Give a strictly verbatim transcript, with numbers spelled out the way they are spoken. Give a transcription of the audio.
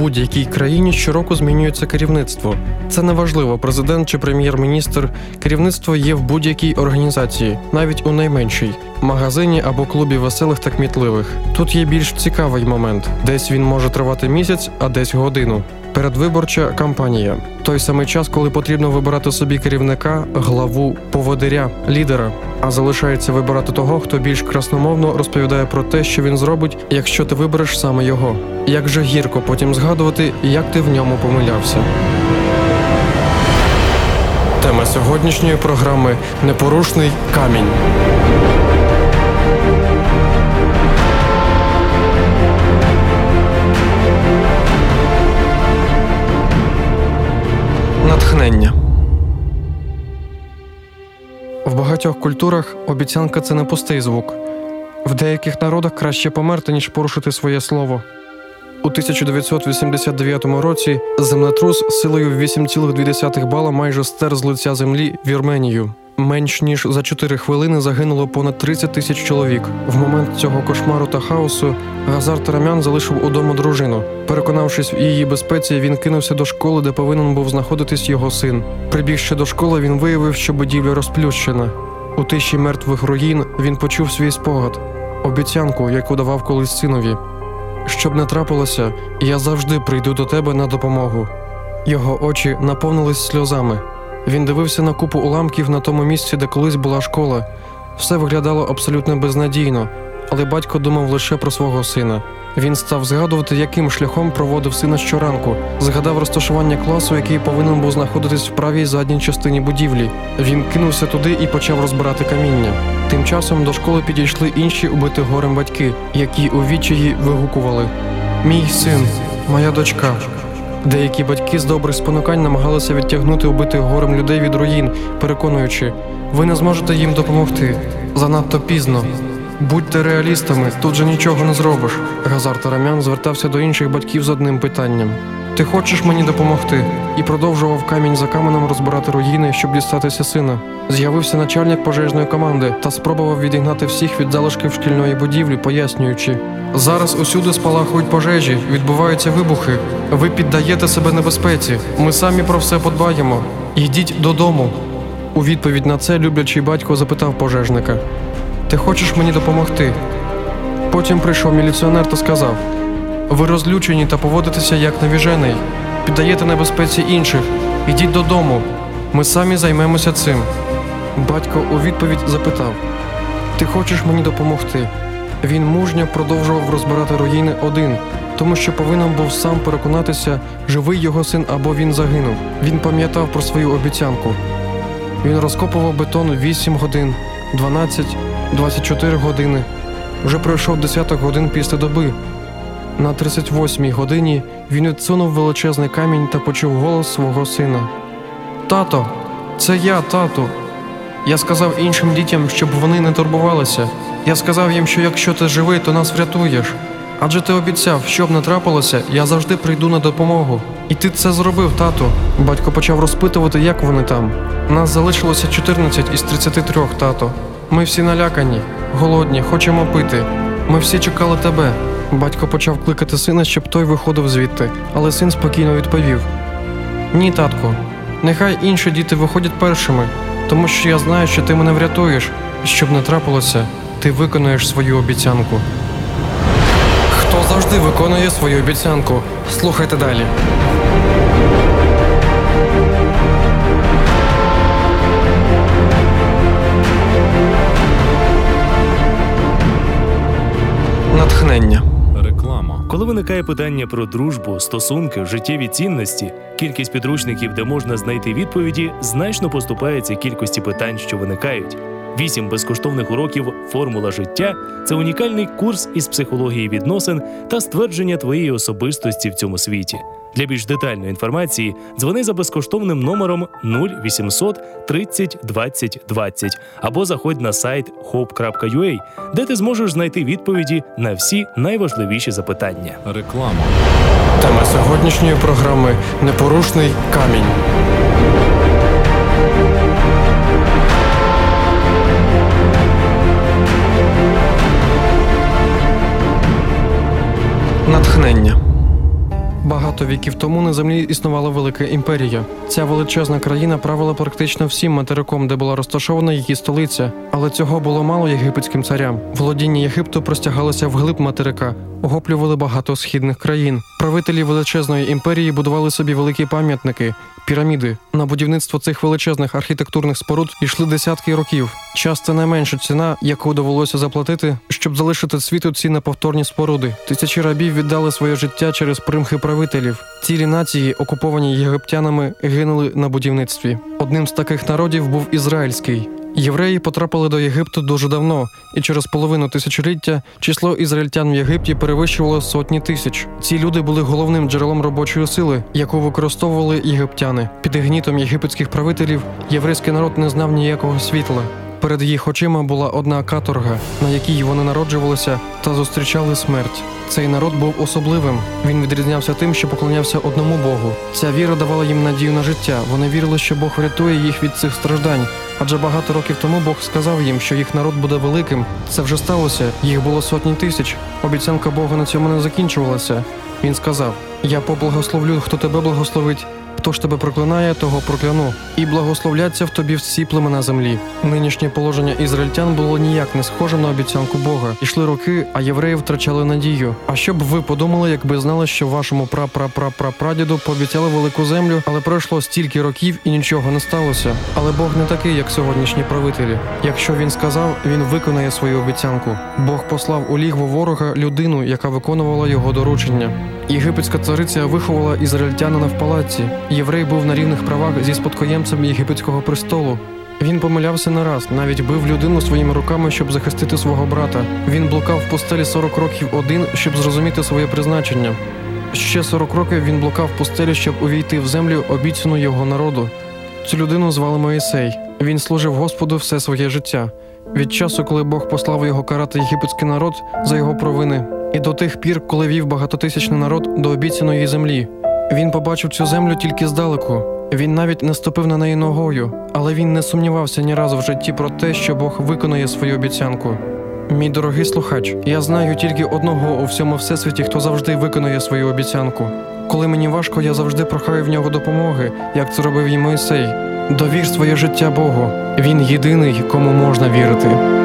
будь-якій країні щороку змінюється керівництво. Це не важливо, президент чи прем'єр-міністр. Керівництво є в будь-якій організації, навіть у найменшій – магазині або клубі веселих та кмітливих. Тут є більш цікавий момент. Десь він може тривати місяць, а десь годину. Передвиборча кампанія. Той самий час, коли потрібно вибирати собі керівника, главу, поводиря, лідера. А залишається вибирати того, хто більш красномовно розповідає про те, що він зробить, якщо ти вибереш саме його. Як же гірко потім згадувати, як ти в ньому помилявся. Тема сьогоднішньої програми – непорушний камінь. Натхнення. В багатьох культурах обіцянка – це не пустий звук. В деяких народах краще померти, ніж порушити своє слово. У тисяча дев'ятсот вісімдесят дев'ятому році землетрус силою вісім цілих дві десятих бала майже стер з лиця землі Вірменію. Менш ніж за чотири хвилини загинуло понад тридцять тисяч чоловік. В момент цього кошмару та хаосу Газар Тарамян залишив удома дружину. Переконавшись в її безпеці, він кинувся до школи, де повинен був знаходитись його син. Прибігши до школи, він виявив, що будівля розплющена. У тиші мертвих руїн він почув свій спогад – обіцянку, яку давав колись синові. «Щоб не трапилося, я завжди прийду до тебе на допомогу». Його очі наповнились сльозами. Він дивився на купу уламків на тому місці, де колись була школа. Все виглядало абсолютно безнадійно, але батько думав лише про свого сина. Він став згадувати, яким шляхом проводив сина щоранку. Згадав розташування класу, який повинен був знаходитись в правій задній частині будівлі. Він кинувся туди і почав розбирати каміння. Тим часом до школи підійшли інші убиті горем батьки, які у відчаї вигукували «Мій син! Моя дочка!». Деякі батьки з добрих спонукань намагалися відтягнути убитих горем людей від руїн, переконуючи «Ви не зможете їм допомогти. Занадто пізно. Будьте реалістами, тут же нічого не зробиш». Газар Тарамян звертався до інших батьків з одним питанням «Ти хочеш мені допомогти?» і продовжував камінь за каменем розбирати руїни, щоб дістатися сина. З'явився начальник пожежної команди та спробував відігнати всіх від залишків шкільної будівлі, пояснюючи «Зараз усюди спалахують пожежі, відбуваються вибухи. Ви піддаєте себе небезпеці. Ми самі про все подбаємо. Йдіть додому». У відповідь на це люблячий батько запитав пожежника «Ти хочеш мені допомогти?» Потім прийшов міліціонер та сказав «Ви розлючені та поводитеся як навіжений. Піддаєте небезпеці інших. Ідіть додому. Ми самі займемося цим». Батько у відповідь запитав «Ти хочеш мені допомогти?» Він мужньо продовжував розбирати руїни один, тому що повинен був сам переконатися, живий його син або він загинув. Він пам'ятав про свою обіцянку. Він розкопував бетон вісім годин, дванадцять, двадцять чотири години. Вже пройшов десяток годин після доби. На тридцять восьмій годині він відсунув величезний камінь та почув голос свого сина. «Тато! Це я, тату! Я сказав іншим дітям, щоб вони не турбувалися. Я сказав їм, що якщо ти живий, то нас врятуєш. Адже ти обіцяв, що б не трапилося, я завжди прийду на допомогу. І ти це зробив, тату». Батько почав розпитувати, як вони там. «Нас залишилося чотирнадцять із тридцяти трьох, тато. Ми всі налякані, голодні, хочемо пити. Ми всі чекали тебе». Батько почав кликати сина, щоб той виходив звідти, але син спокійно відповів «Ні, татку, нехай інші діти виходять першими, тому що я знаю, що ти мене врятуєш. Щоб не трапилося, ти виконаєш свою обіцянку». Хто завжди виконує свою обіцянку? Слухайте далі. Натхнення. Реклама. Коли виникає питання про дружбу, стосунки, життєві цінності, кількість підручників, де можна знайти відповіді, значно поступається кількості питань, що виникають. Вісім безкоштовних уроків «Формула життя» – це унікальний курс із психології відносин та ствердження твоєї особистості в цьому світі. Для більш детальної інформації дзвони за безкоштовним номером нуль вісімсот тридцять двадцять двадцять або заходь на сайт хоуп крапка ю а, де ти зможеш знайти відповіді на всі найважливіші запитання. Реклама. Тема сьогоднішньої програми «Непорушний камінь». Натхнення. Багато багато віків тому на землі існувала велика імперія. Ця величезна країна правила практично всім материком, де була розташована її столиця. Але цього було мало єгипетським царям. Володіння Єгипту простягалося вглиб материка, охоплювали багато східних країн. Правителі величезної імперії будували собі великі пам'ятники, піраміди. На будівництво цих величезних архітектурних споруд йшли десятки років. Час – це найменша ціна, яку довелося заплатити, щоб залишити світу ці неповторні споруди. Тисячі рабів віддали своє життя через примхи правителів. Цілі нації, окуповані єгиптянами, гинули на будівництві. Одним з таких народів був ізраїльський. Євреї потрапили до Єгипту дуже давно, і через половину тисячоліття число ізраїльтян в Єгипті перевищувало сотні тисяч. Ці люди були головним джерелом робочої сили, яку використовували єгиптяни. Під гнітом єгипетських правителів єврейський народ не знав ніякого світла. Перед їх очима була одна каторга, на якій вони народжувалися та зустрічали смерть. Цей народ був особливим. Він відрізнявся тим, що поклонявся одному Богу. Ця віра давала їм надію на життя. Вони вірили, що Бог врятує їх від цих страждань. Адже багато років тому Бог сказав їм, що їх народ буде великим. Це вже сталося. Їх було сотні тисяч. Обіцянка Бога на цьому не закінчувалася. Він сказав: «Я поблагословлю, хто тебе благословить. Хто ж тебе проклинає, того прокляну. І благословляться в тобі всі племена землі». Нинішнє положення ізраїльтян було ніяк не схожим на обіцянку Бога. Ішли роки, а євреї втрачали надію. А що б ви подумали, якби знали, що вашому пра-пра-пра-пра-прадіду пообіцяли велику землю, але пройшло стільки років і нічого не сталося? Але Бог не такий, як сьогоднішні правителі. Якщо він сказав, він виконає свою обіцянку. Бог послав у лігво ворога людину, яка виконувала його доручення. Єгипетська цариця виховала ізраїльтянина в палаці. Єврей був на рівних правах зі спадкоємцем єгипетського престолу. Він помилявся не раз, навіть бив людину своїми руками, щоб захистити свого брата. Він блукав в пустелі сорок років один, щоб зрозуміти своє призначення. Ще сорок років він блукав в пустелі, щоб увійти в землю, обіцяну його народу. Цю людину звали Моїсей. Він служив Господу все своє життя. Від часу, коли Бог послав його карати єгипетський народ за його провини, і до тих пір, коли вів багатотисячний народ до обіцяної землі. Він побачив цю землю тільки здалеку. Він навіть не ступив на неї ногою, але він не сумнівався ні разу в житті про те, що Бог виконає свою обіцянку. Мій дорогий слухач, я знаю тільки одного у всьому всесвіті, хто завжди виконує свою обіцянку. Коли мені важко, я завжди прохаю в нього допомоги, як це робив і Мойсей. Довір своє життя Богу. Він єдиний, кому можна вірити.